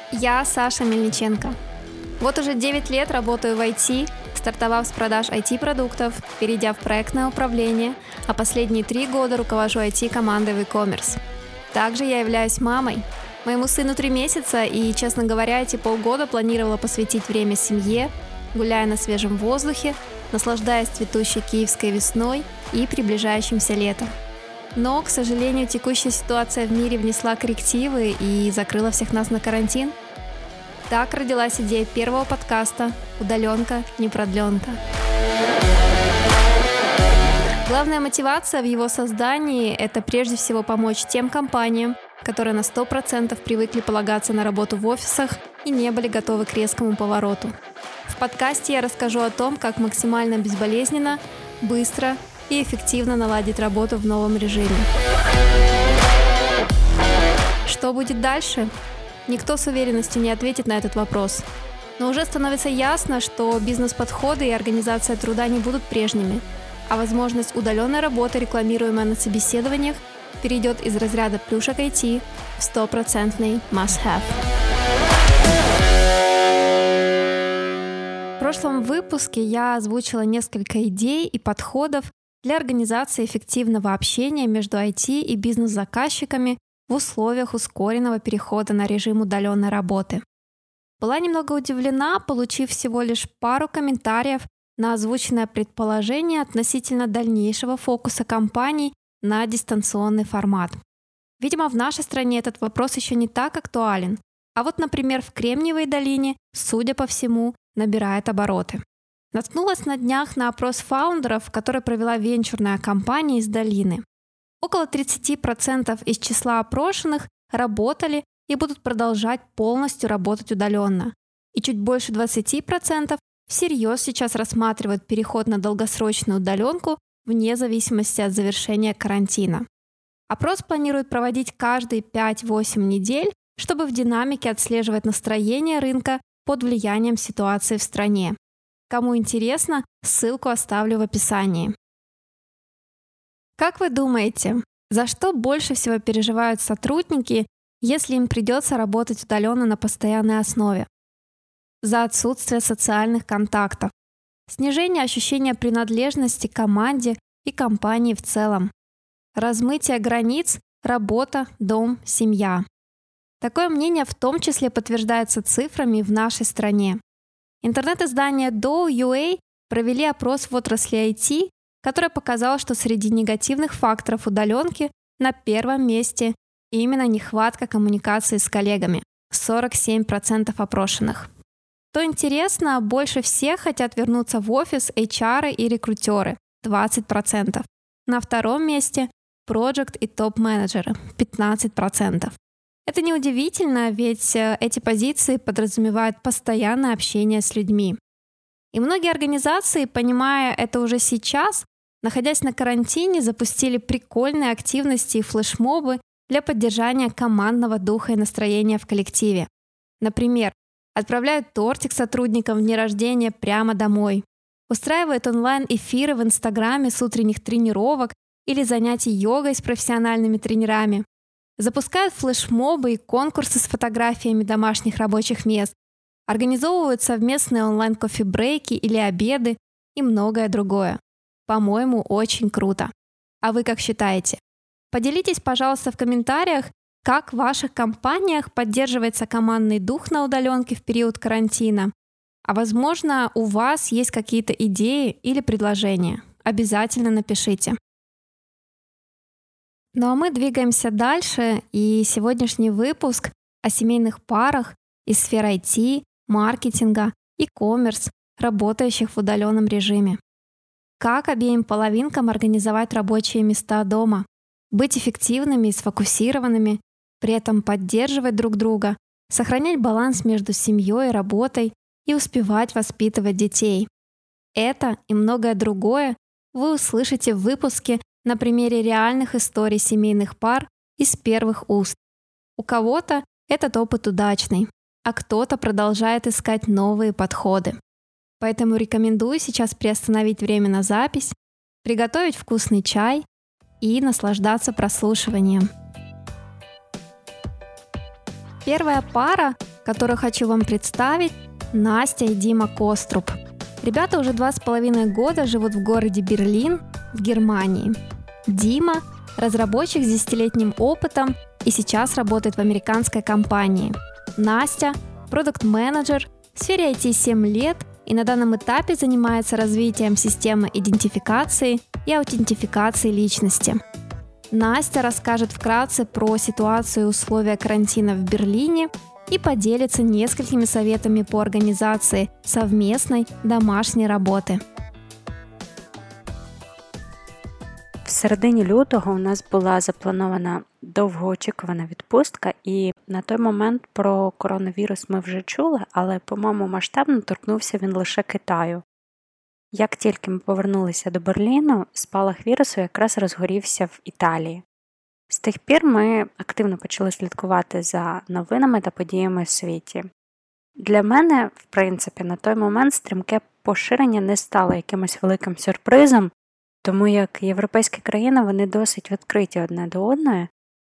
Я Саша Мельниченко. Вот уже 9 лет работаю в IT, стартовав с продаж IT-продуктов, перейдя в проектное управление, а последние 3 года руковожу IT-командой в e-commerce. Также я являюсь мамой. Моему сыну 3 месяца, и, честно говоря, эти полгода планировала посвятить время семье, гуляя на свежем воздухе, наслаждаясь цветущей киевской весной и приближающимся летом. Но, к сожалению, текущая ситуация в мире внесла коррективы и закрыла всех нас на карантин. Так родилась идея первого подкаста «Удаленка, не продленка». Главная мотивация в его создании – это прежде всего помочь тем компаниям, которые на 100% привыкли полагаться на работу в офисах и не были готовы к резкому повороту. В подкасте я расскажу о том, как максимально безболезненно, быстро и эффективно наладить работу в новом режиме. Что будет дальше? Никто с уверенностью не ответит на этот вопрос. Но уже становится ясно, что бизнес-подходы и организация труда не будут прежними, а возможность удаленной работы, рекламируемая на собеседованиях, перейдет из разряда плюшек IT в 100% must-have. В прошлом выпуске я озвучила несколько идей и подходов для организации эффективного общения между IT и бизнес-заказчиками в условиях ускоренного перехода на режим удаленной работы. Была немного удивлена, получив всего лишь пару комментариев на озвученное предположение относительно дальнейшего фокуса компаний на дистанционный формат. Видимо, в нашей стране этот вопрос еще не так актуален, а вот, например, в Кремниевой долине, судя по всему, набирает обороты. Наткнулась на днях на опрос фаундеров, который провела венчурная компания из долины. Около 30% из числа опрошенных работали и будут продолжать полностью работать удаленно. И чуть больше 20% всерьез сейчас рассматривают переход на долгосрочную удаленку вне зависимости от завершения карантина. Опрос планируют проводить каждые 5-8 недель, чтобы в динамике отслеживать настроение рынка под влиянием ситуации в стране. Кому интересно, ссылку оставлю в описании. Как вы думаете, за что больше всего переживают сотрудники, если им придется работать удаленно на постоянной основе? За отсутствие социальных контактов, снижение ощущения принадлежности к команде и компании в целом, размытие границ, работа, дом, семья. Такое мнение в том числе подтверждается цифрами в нашей стране. Интернет-издание Dow.ua провели опрос в отрасли IT, который показал, что среди негативных факторов удаленки на первом месте именно нехватка коммуникации с коллегами – 47% опрошенных. Что интересно, больше всех хотят вернуться в офис HR и рекрутеры – 20%. На втором месте – проект и топ-менеджеры – 15%. Это неудивительно, ведь эти позиции подразумевают постоянное общение с людьми. И многие организации, понимая это уже сейчас, находясь на карантине, запустили прикольные активности и флешмобы для поддержания командного духа и настроения в коллективе. Например, отправляют тортик сотрудникам в дни рождения прямо домой, устраивают онлайн-эфиры в Инстаграме с утренних тренировок или занятий йогой с профессиональными тренерами, запускают флешмобы и конкурсы с фотографиями домашних рабочих мест, организовывают совместные онлайн-кофе-брейки или обеды и многое другое. По-моему, очень круто. А вы как считаете? Поделитесь, пожалуйста, в комментариях, как в ваших компаниях поддерживается командный дух на удаленке в период карантина. А возможно, у вас есть какие-то идеи или предложения. Обязательно напишите. Ну а мы двигаемся дальше, и сегодняшний выпуск о семейных парах из сфер IT, маркетинга, e-commerce, работающих в удаленном режиме. Как обеим половинкам организовать рабочие места дома, быть эффективными и сфокусированными, при этом поддерживать друг друга, сохранять баланс между семьей и работой и успевать воспитывать детей. Это и многое другое вы услышите в выпуске на примере реальных историй семейных пар из первых уст. У кого-то этот опыт удачный, а кто-то продолжает искать новые подходы. Поэтому рекомендую сейчас приостановить время на запись, приготовить вкусный чай и наслаждаться прослушиванием. Первая пара которую хочу вам представить, Настя и Дима Коструб. Ребята уже 2,5 года живут в городе Берлин в Германии. Дима – разработчик с 10-летним опытом и сейчас работает в американской компании. Настя – продакт-менеджер в сфере IT 7 лет и на данном этапе занимается развитием системы идентификации и аутентификации личности. Настя расскажет вкратце про ситуацию и условия карантина в Берлине и поделится несколькими советами по организации совместной домашней роботи. В середині лютого у нас була запланована довгоочікувана відпустка, і на той момент про коронавірус ми вже чули, але, по-моєму, масштабно торкнувся він лише Китаю. Як тільки ми повернулися до Берліну, спалах вірусу якраз розгорівся в Італії. З тих пір ми активно почали слідкувати за новинами та подіями в світі. Для мене, в принципі, на той момент стрімке поширення не стало якимось великим сюрпризом, тому як європейські країни, вони досить відкриті одне до одної,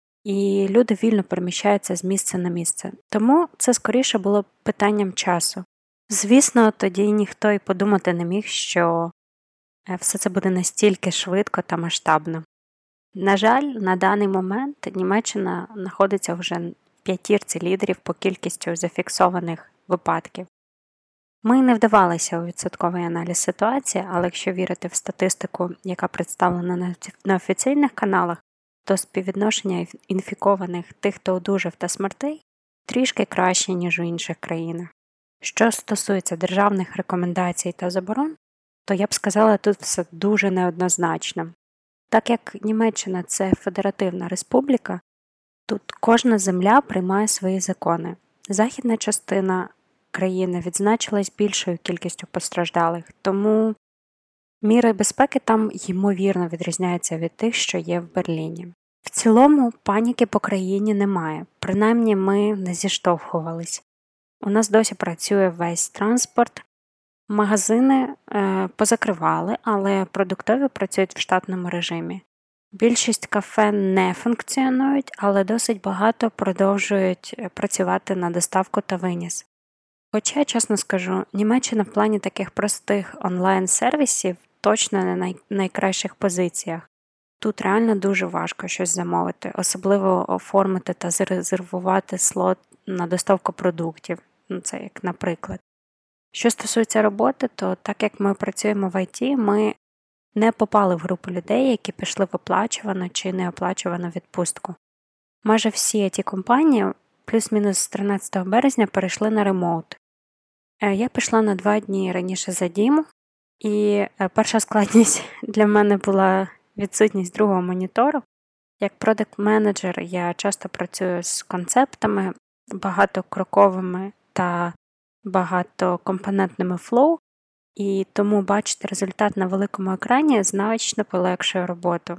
і люди вільно переміщаються з місця на місце. Тому це скоріше було питанням часу. Звісно, тоді ніхто й подумати не міг, що все це буде настільки швидко та масштабно. На жаль, на даний момент Німеччина знаходиться вже в п'ятірці лідерів по кількістю зафіксованих випадків. Ми не вдавалися у відсотковий аналіз ситуації, але якщо вірити в статистику, яка представлена на офіційних каналах, то співвідношення інфікованих тих, хто одужав та смертей, трішки краще, ніж у інших країнах. Що стосується державних рекомендацій та заборон, то я б сказала, тут все дуже неоднозначно. Так як Німеччина – це федеративна республіка, тут кожна земля приймає свої закони. Західна частина країни відзначилась більшою кількістю постраждалих, тому міри безпеки там ймовірно відрізняються від тих, що є в Берліні. В цілому паніки по країні немає, принаймні ми не зіштовхувались. У нас досі працює весь транспорт, магазини позакривали, але продуктові працюють в штатному режимі. Більшість кафе не функціонують, але досить багато продовжують працювати на доставку та виніс. Хоча, чесно скажу, Німеччина в плані таких простих онлайн-сервісів точно не на найкращих позиціях. Тут реально дуже важко щось замовити, особливо оформити та зарезервувати слот на доставку продуктів. Це як наприклад. Що стосується роботи, то так як ми працюємо в ІТ, ми не попали в групу людей, які пішли в оплачувану чи неоплачувану відпустку. Майже всі ІТ-компанії плюс-мінус з 13 березня перейшли на ремоут. Я пішла на 2 дні раніше за Діму, і перша складність для мене була відсутність другого монітору. Як продакт-менеджер я часто працюю з концептами, багатокроковими та багатокомпонентними флоу, і тому бачити результат на великому екрані значно полегшує роботу.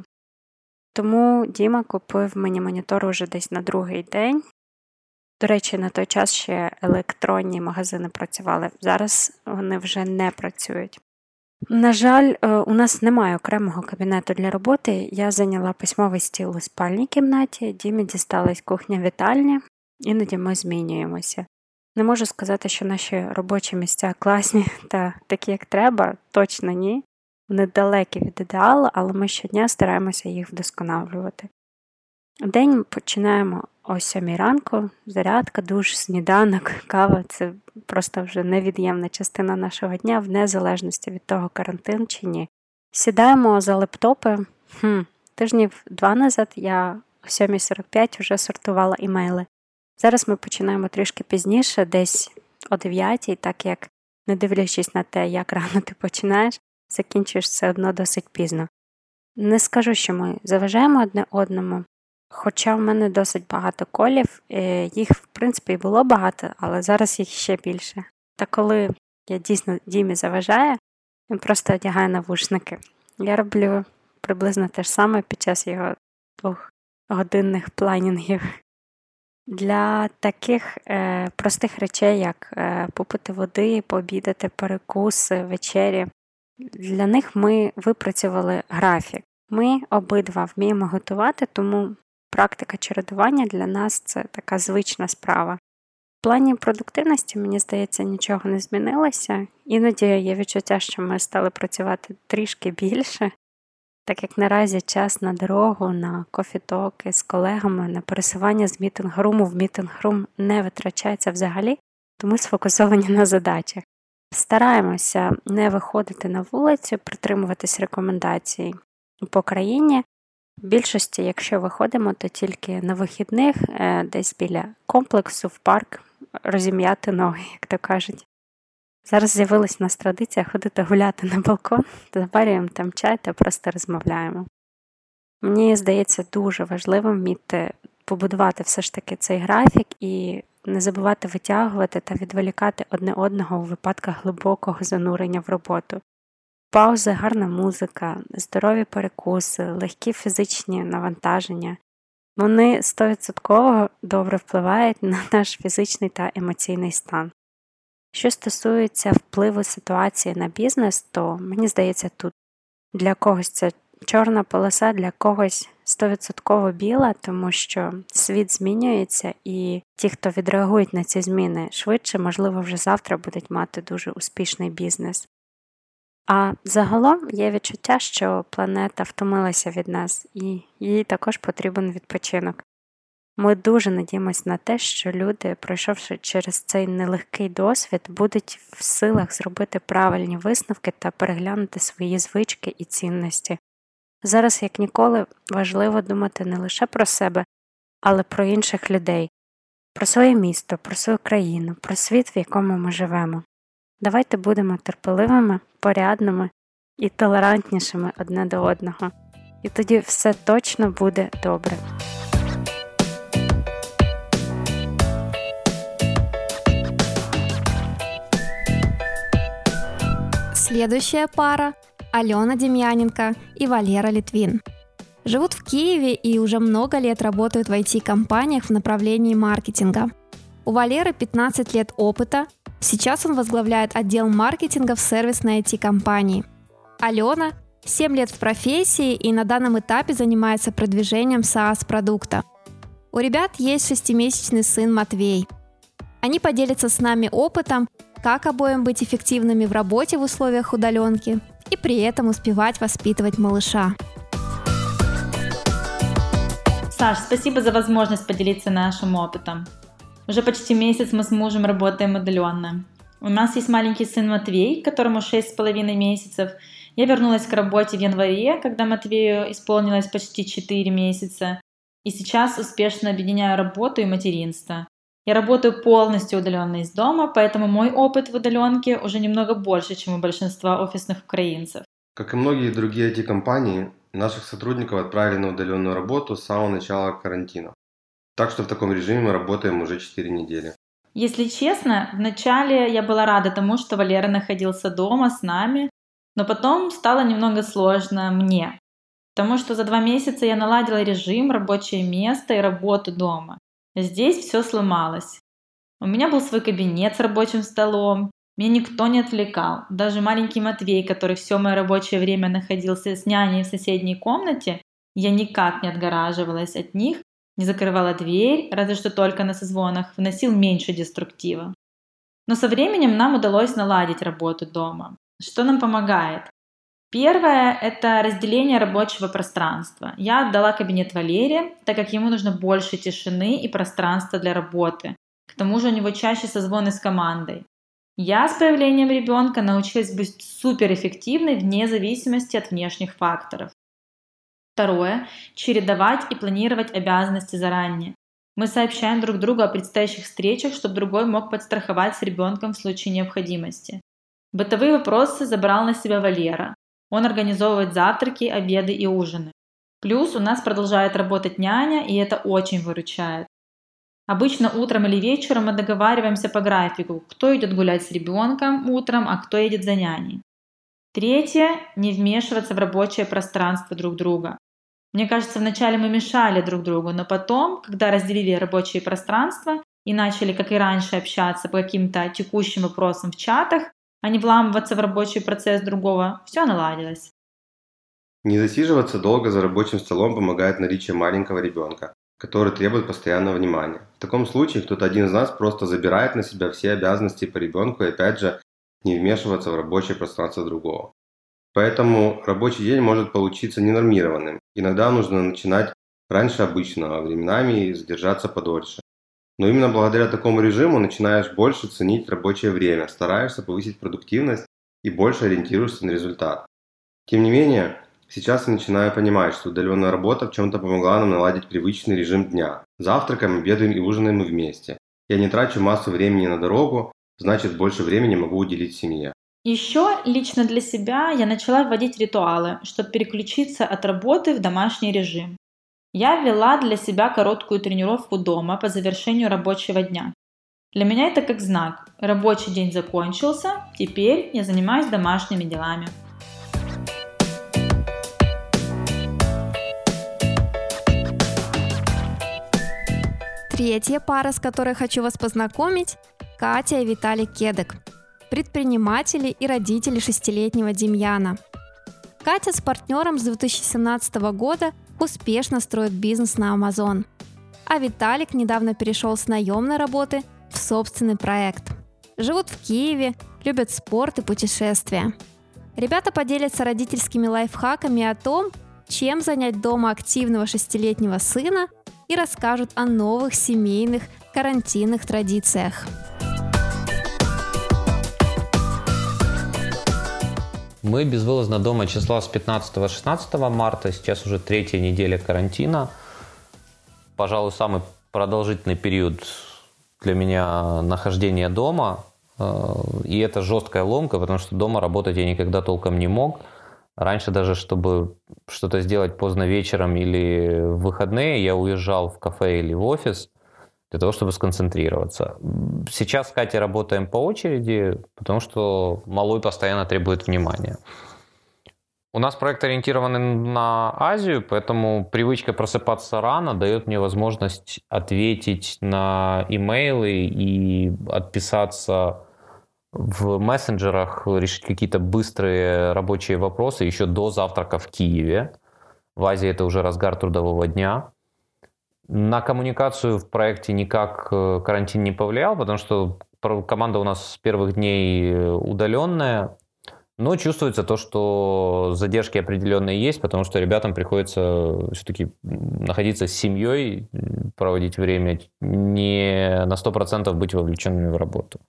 Тому Діма купив мені монітор уже десь на другий день. До речі, на той час ще електронні магазини працювали, зараз вони вже не працюють. На жаль, у нас немає окремого кабінету для роботи, я зайняла письмовий стіл у спальній кімнаті, Дімі дісталась кухня-вітальня, іноді ми змінюємося. Не можу сказати, що наші робочі місця класні та такі, як треба, точно ні. Вони далекі від ідеалу, але ми щодня стараємося їх вдосконалювати. День починаємо о 7 ранку, зарядка, душ, сніданок, кава – це просто вже невід'ємна частина нашого дня, в незалежності від того, карантин чи ні. Сідаємо за лептопи. Тижнів 2 назад я о 7:45 вже сортувала імейли. Зараз ми починаємо трішки пізніше, десь о 9:00, так як, не дивлячись на те, як рано ти починаєш, закінчуєш все одно досить пізно. Не скажу, що ми заважаємо одне одному, хоча в мене досить багато колів, їх, в принципі, і було багато, але зараз їх ще більше. Та коли я дійсно Дімі заважаю, він просто одягає навушники. Я роблю приблизно те ж саме під час його 2-годинних планінгів. Для таких простих речей, як попити води, пообідати, перекуси, вечері, для них ми випрацювали графік. Ми обидва вміємо готувати, тому практика чередування для нас – це така звична справа. В плані продуктивності, мені здається, нічого не змінилося. Іноді є відчуття, що ми стали працювати трішки більше, так як наразі час на дорогу, на кофі-токи з колегами, на пересування з мітинг-руму в мітинг-рум не витрачається взагалі, тому сфокусовані на задачах. Стараємося не виходити на вулицю, притримуватись рекомендацій по країні. В більшості, якщо виходимо, то тільки на вихідних, десь біля комплексу, в парк, розім'яти ноги, як то кажуть. Зараз з'явилась у нас традиція ходити гуляти на балкон, заварюємо там чай та просто розмовляємо. Мені здається дуже важливим вміти побудувати все ж таки цей графік і не забувати витягувати та відволікати одне одного у випадках глибокого занурення в роботу. Паузи, гарна музика, здорові перекуси, легкі фізичні навантаження. Вони 100% добре впливають на наш фізичний та емоційний стан. Що стосується впливу ситуації на бізнес, то, мені здається, тут для когось це чорна полоса, для когось 100% біла, тому що світ змінюється і ті, хто відреагують на ці зміни швидше, можливо, вже завтра будуть мати дуже успішний бізнес. А загалом є відчуття, що планета втомилася від нас і їй також потрібен відпочинок. Ми дуже надіємось на те, що люди, пройшовши через цей нелегкий досвід, будуть в силах зробити правильні висновки та переглянути свої звички і цінності. Зараз, як ніколи, важливо думати не лише про себе, але про інших людей, про своє місто, про свою країну, про світ, в якому ми живемо. Давайте будемо терпеливими, порядними і толерантнішими одне до одного. І тоді все точно буде добре. Следующая пара – Алена Демьяненко и Валера Литвин. Живут в Киеве и уже много лет работают в IT-компаниях в направлении маркетинга. У Валеры 15 лет опыта, сейчас он возглавляет отдел маркетинга в сервисной IT-компании. Алена – 7 лет в профессии и на данном этапе занимается продвижением SaaS-продукта. У ребят есть 6-месячный сын Матвей. Они поделятся с нами опытом, как обоим быть эффективными в работе в условиях удаленки и при этом успевать воспитывать малыша. Саш, спасибо за возможность поделиться нашим опытом. Уже почти месяц мы с мужем работаем удаленно. У нас есть маленький сын Матвей, которому 6,5 месяцев. Я вернулась к работе в январе, когда Матвею исполнилось почти 4 месяца. И сейчас успешно объединяю работу и материнство. Я работаю полностью удаленно из дома, поэтому мой опыт в удаленке уже немного больше, чем у большинства офисных украинцев. Как и многие другие IT-компании, наших сотрудников отправили на удаленную работу с самого начала карантина. Так что в таком режиме мы работаем уже 4 недели. Если честно, вначале я была рада тому, что Валера находился дома с нами, но потом стало немного сложно мне, потому что за 2 месяца я наладила режим, рабочее место и работу дома. Здесь все сломалось. У меня был свой кабинет с рабочим столом, меня никто не отвлекал. Даже маленький Матвей, который все мое рабочее время находился с няней в соседней комнате, я никак не отгораживалась от них, не закрывала дверь, разве что только на созвонах, вносил меньше деструктива. Но со временем нам удалось наладить работу дома. Что нам помогает? Первое – это разделение рабочего пространства. Я отдала кабинет Валере, так как ему нужно больше тишины и пространства для работы. К тому же у него чаще созвоны с командой. Я с появлением ребенка научилась быть суперэффективной вне зависимости от внешних факторов. Второе – чередовать и планировать обязанности заранее. Мы сообщаем друг другу о предстоящих встречах, чтобы другой мог подстраховать с ребенком в случае необходимости. Бытовые вопросы забрал на себя Валера. Он организовывает завтраки, обеды и ужины. Плюс у нас продолжает работать няня, и это очень выручает. Обычно утром или вечером мы договариваемся по графику, кто идет гулять с ребенком утром, а кто едет за няней. Третье – не вмешиваться в рабочее пространство друг друга. Мне кажется, вначале мы мешали друг другу, но потом, когда разделили рабочие пространства и начали, как и раньше, общаться по каким-то текущим вопросам в чатах, а не вламываться в рабочий процесс другого, все наладилось. Не засиживаться долго за рабочим столом помогает наличие маленького ребенка. который требует постоянного внимания. В таком случае кто-то один из нас просто забирает на себя все обязанности по ребенку и опять же не вмешиваться в рабочее пространство другого. Поэтому рабочий день может получиться ненормированным. Иногда нужно начинать раньше обычного, временами задержаться подольше. Но именно благодаря такому режиму начинаешь больше ценить рабочее время, стараешься повысить продуктивность и больше ориентируешься на результат. Тем не менее, сейчас я начинаю понимать, что удаленная работа в чем-то помогла нам наладить привычный режим дня. Завтракаем, обедаем и ужинаем мы вместе. Я не трачу массу времени на дорогу, значит больше времени могу уделить семье. Еще лично для себя я начала вводить ритуалы, чтобы переключиться от работы в домашний режим. Я ввела для себя короткую тренировку дома по завершению рабочего дня. Для меня это как знак. Рабочий день закончился, теперь я занимаюсь домашними делами. Третья пара, с которой хочу вас познакомить – Катя и Виталий Кедек, предприниматели и родители 6-летнего Демьяна. Катя с партнером с 2017 года успешно строит бизнес на Amazon, а Виталик недавно перешел с наемной работы в собственный проект. Живут в Киеве, любят спорт и путешествия. Ребята поделятся родительскими лайфхаками о том, чем занять дома активного 6-летнего сына, и расскажут о новых семейных карантинных традициях. Мы безвылазно дома числа с 15-16 марта, сейчас уже 3-я неделя карантина. Пожалуй, самый продолжительный период для меня нахождения дома. И это жесткая ломка, потому что дома работать я никогда толком не мог. Раньше даже, чтобы что-то сделать поздно вечером или в выходные, я уезжал в кафе или в офис для того, чтобы сконцентрироваться. Сейчас с Катей работаем по очереди, потому что малой постоянно требует внимания. У нас проект ориентирован на Азию, поэтому привычка просыпаться рано дает мне возможность ответить на имейлы и отписаться в мессенджерах, решить какие-то быстрые рабочие вопросы еще до завтрака в Киеве. В Азии это уже разгар трудового дня. На коммуникацию в проекте никак карантин не повлиял, потому что команда у нас с первых дней удаленная. Но чувствуется то, что задержки определенные есть, потому что ребятам приходится все-таки находиться с семьей, проводить время, не на 100% быть вовлеченными в работу.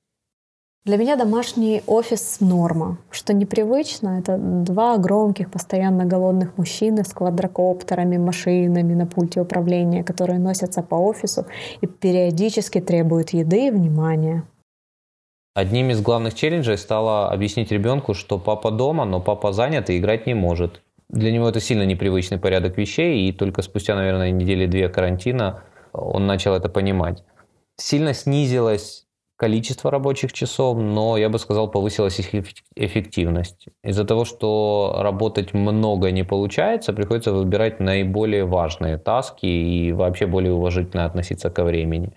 Для меня домашний офис – норма. Что непривычно, это 2 громких, постоянно голодных мужчины с квадрокоптерами, машинами на пульте управления, которые носятся по офису и периодически требуют еды и внимания. Одним из главных челленджей стало объяснить ребенку, что папа дома, но папа занят и играть не может. Для него это сильно непривычный порядок вещей, и только спустя, наверное, 2 недели карантина он начал это понимать. Сильно снизилось количество рабочих часов, но, я бы сказал, повысилась их эффективность. Из-за того, что работать много не получается, приходится выбирать наиболее важные таски и вообще более уважительно относиться ко времени.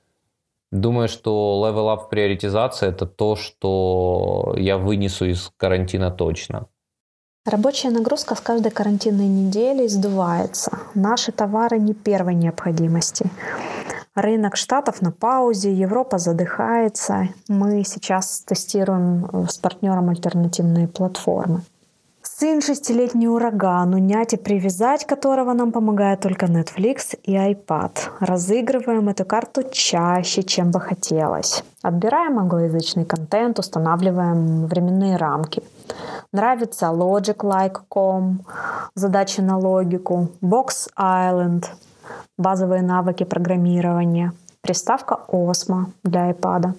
Думаю, что level up в приоритизации – это то, что я вынесу из карантина точно. Рабочая нагрузка с каждой карантинной неделей сдувается. Наши товары не первой необходимости. Рынок Штатов на паузе, Европа задыхается. Мы сейчас тестируем с партнером альтернативные платформы. Сын 6-летний ураган, унять и привязать которого нам помогает только Netflix и iPad. Разыгрываем эту карту чаще, чем бы хотелось. Отбираем англоязычный контент, устанавливаем временные рамки. Нравится Logic.com, задачи на логику, Box Island, базовые навыки программирования, приставка Osmo для iPad.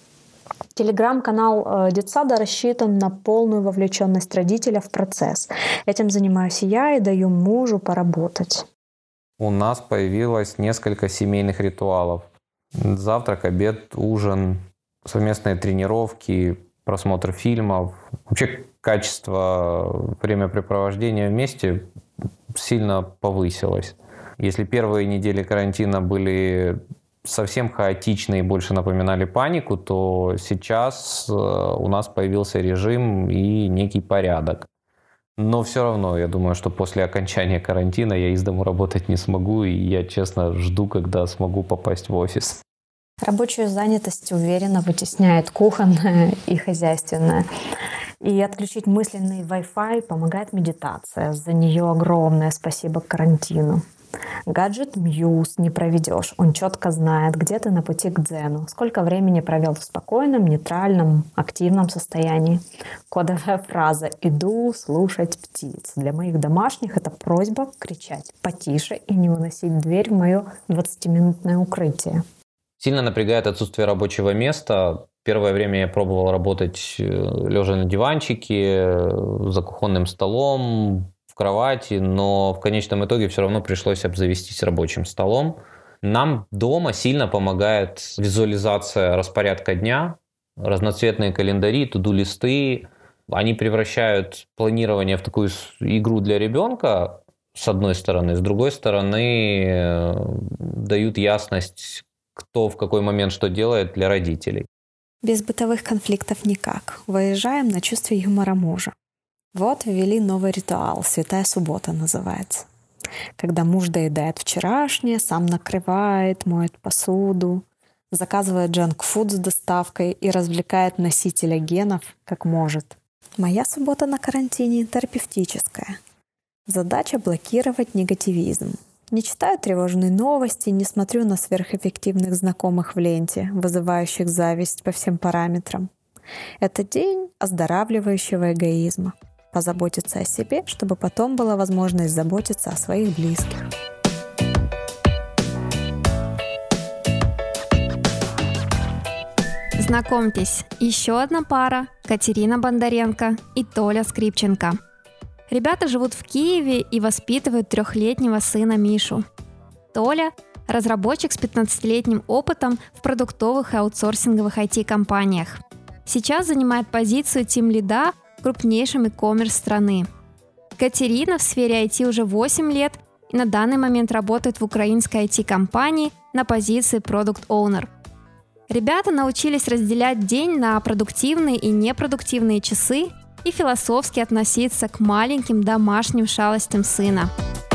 Телеграм-канал детсада рассчитан на полную вовлеченность родителя в процесс. Этим занимаюсь я и даю мужу поработать. У нас появилось несколько семейных ритуалов. Завтрак, обед, ужин, совместные тренировки, просмотр фильмов. Вообще качество времяпрепровождения вместе сильно повысилось. Если первые недели карантина были совсем хаотичные и больше напоминали панику, то сейчас у нас появился режим и некий порядок. Но все равно, я думаю, что после окончания карантина я из дому работать не смогу, и я, честно, жду, когда смогу попасть в офис. Рабочую занятость уверенно вытесняет кухонная и хозяйственная. И отключить мысленный Wi-Fi помогает медитация. За нее огромное спасибо карантину. Гаджет Muse не проведешь. Он четко знает, где ты на пути к дзену, сколько времени провел в спокойном, нейтральном, активном состоянии. Кодовая фраза «иду слушать птиц». Для моих домашних это просьба кричать потише и не выносить дверь в мое 20-минутное укрытие. Сильно напрягает отсутствие рабочего места. Первое время я пробовал работать лежа на диванчике, за кухонным столом, в кровати, но в конечном итоге все равно пришлось обзавестись рабочим столом. Нам дома сильно помогает визуализация распорядка дня, разноцветные календари, туду-листы. Они превращают планирование в такую игру для ребенка, с одной стороны. С другой стороны, дают ясность, кто в какой момент что делает для родителей. Без бытовых конфликтов никак. Выезжаем на чувстве юмора мужа. Вот ввели новый ритуал, Святая суббота называется. Когда муж доедает вчерашнее, сам накрывает, моет посуду, заказывает джанк-фуд с доставкой и развлекает носителя генов как может. Моя суббота на карантине терапевтическая. Задача — блокировать негативизм. Не читаю тревожные новости, не смотрю на сверхэффективных знакомых в ленте, вызывающих зависть по всем параметрам. Это день оздоравливающего эгоизма. Позаботиться о себе, чтобы потом была возможность заботиться о своих близких. Знакомьтесь, еще одна пара – Катерина Бондаренко и Толя Скрипченко. Ребята живут в Киеве и воспитывают 3-летнего сына Мишу. Толя – разработчик с 15-летним опытом в продуктовых и аутсорсинговых IT-компаниях. Сейчас занимает позицию тим-лида в крупнейшем e-commerce страны. Катерина в сфере IT уже 8 лет и на данный момент работает в украинской IT-компании на позиции Product Owner. Ребята научились разделять день на продуктивные и непродуктивные часы и философски относиться к маленьким домашним шалостям сына.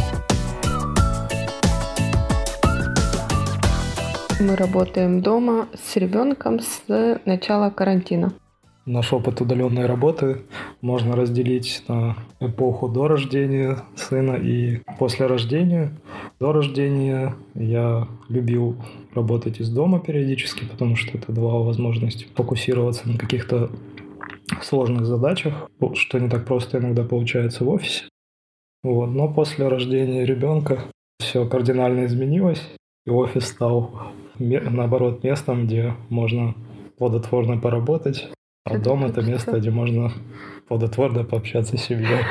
Мы работаем дома с ребенком с начала карантина. Наш опыт удаленной работы можно разделить на эпоху до рождения сына и после рождения. До рождения я любил работать из дома периодически, потому что это давало возможность фокусироваться на каких-то сложных задачах, что не так просто иногда получается в офисе. Но после рождения ребенка все кардинально изменилось, и офис стал, наоборот, местом, где можно плодотворно поработать, а дом — это место, где можно плодотворно пообщаться с семьей.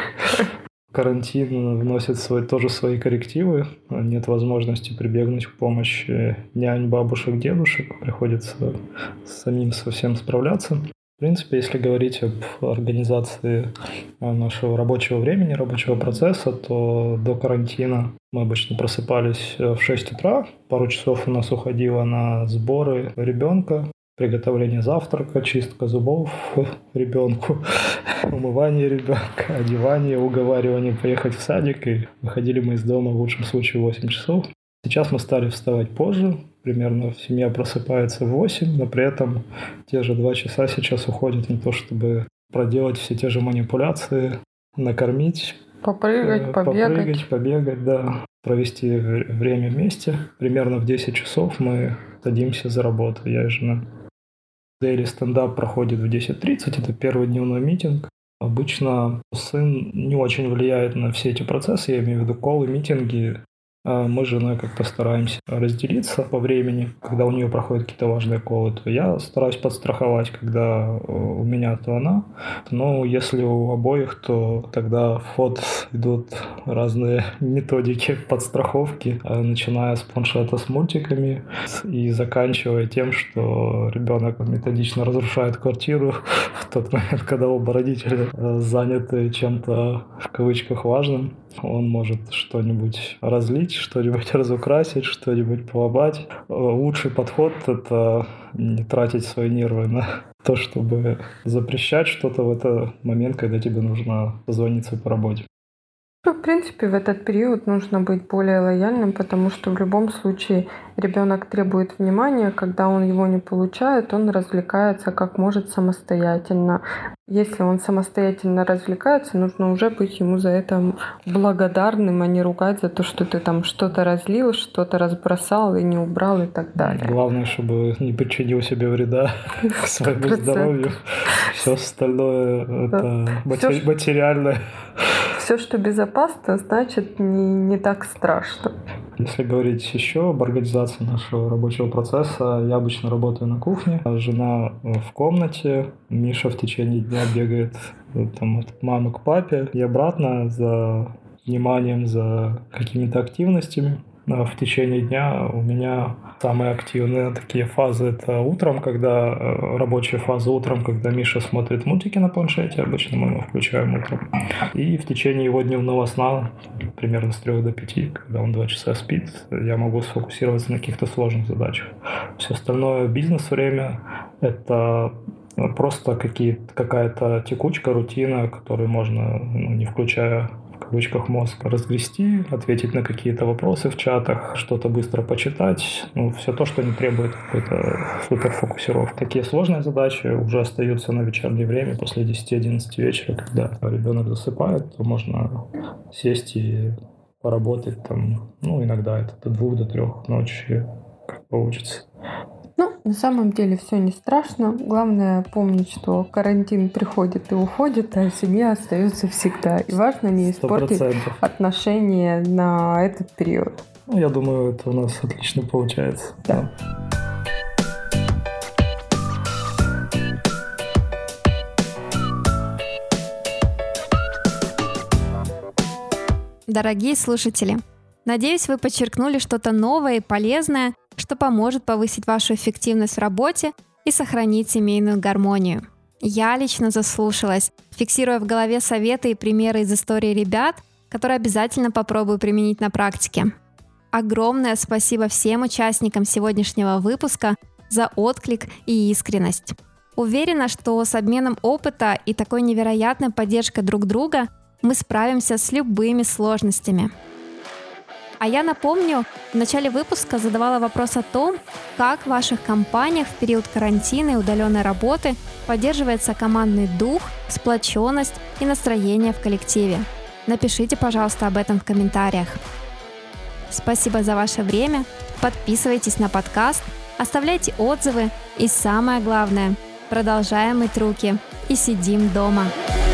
Карантин вносит тоже свои коррективы. Нет возможности прибегнуть к помощи нянь, бабушек, дедушек. Приходится самим со всем справляться. В принципе, если говорить об организации нашего рабочего времени, рабочего процесса, то до карантина мы обычно просыпались в 6 утра. Пару часов у нас уходило на сборы ребенка, приготовление завтрака, чистка зубов ребенку, умывание ребенка, одевание, уговаривание поехать в садик. И выходили мы из дома в лучшем случае в 8 часов. Сейчас мы стали вставать позже. Примерно семья просыпается в 8, но при этом те же 2 часа сейчас уходят на то, чтобы проделать все те же манипуляции, накормить, Попрыгать, побегать, да, провести время вместе. Примерно в 10 часов мы садимся за работу, я и жена. Daily стендап проходит в 10:30, это первый дневной митинг. Обычно сын не очень влияет на все эти процессы, я имею в виду коллы, митинги. Мы с женой как-то стараемся разделиться по времени. Когда у нее проходят какие-то важные колы, то я стараюсь подстраховать, когда у меня, то она. Но если у обоих, то тогда в ход идут разные методики подстраховки, начиная с планшета с мультиками и заканчивая тем, что ребенок методично разрушает квартиру в тот момент, когда оба родителя заняты чем-то в кавычках важным. Он может что-нибудь разлить, удивить, что-нибудь разукрасить, что-нибудь поломать. Лучший подход — это не тратить свои нервы на то, чтобы запрещать что-то в этот момент, когда тебе нужно позвониться по работе. В принципе, в этот период нужно быть более лояльным, потому что в любом случае ребенок требует внимания, когда он его не получает, он развлекается как может самостоятельно. Если он самостоятельно развлекается, нужно уже быть ему за это благодарным, а не ругать за то, что ты там что-то разлил, что-то разбросал и не убрал и так далее. Главное, чтобы не причинил себе вреда своему здоровью. Все остальное — это материальное. Все, что безопасно, значит не так страшно. Если говорить еще об организации нашего рабочего процесса, я обычно работаю на кухне, а жена в комнате, Миша в течение дня бегает там, от мамы к папе и обратно за вниманием, за какими-то активностями. В течение дня у меня самые активные такие фазы — это утром, когда рабочая фаза утром, когда Миша смотрит мультики на планшете, обычно мы его включаем утром. И в течение его дневного сна, примерно с 3 до 5, когда он 2 часа спит, я могу сфокусироваться на каких-то сложных задачах. Все остальное бизнес-время — это просто какая-то текучка, рутина, которую можно, не включая в кавычках мозг, разгрести, ответить на какие-то вопросы в чатах, что-то быстро почитать. Все то, что не требует какой-то суперфокусировки. Такие сложные задачи уже остаются на вечернее время после 10-11 вечера, когда ребенок засыпает, то можно сесть и поработать там, иногда это до 2 до 3 ночи, как получится. На самом деле все не страшно. Главное помнить, что карантин приходит и уходит, а семья остается всегда. И важно не испортить 100% отношения на этот период. Я думаю, это у нас отлично получается. Да. Дорогие слушатели, надеюсь, вы подчеркнули что-то новое и полезное, что поможет повысить вашу эффективность в работе и сохранить семейную гармонию. Я лично заслушалась, фиксируя в голове советы и примеры из истории ребят, которые обязательно попробую применить на практике. Огромное спасибо всем участникам сегодняшнего выпуска за отклик и искренность. Уверена, что с обменом опыта и такой невероятной поддержкой друг друга мы справимся с любыми сложностями. А я напомню, в начале выпуска задавала вопрос о том, как в ваших компаниях в период карантина и удаленной работы поддерживается командный дух, сплоченность и настроение в коллективе. Напишите, пожалуйста, об этом в комментариях. Спасибо за ваше время, подписывайтесь на подкаст, оставляйте отзывы и самое главное, продолжаем мыть руки и сидим дома.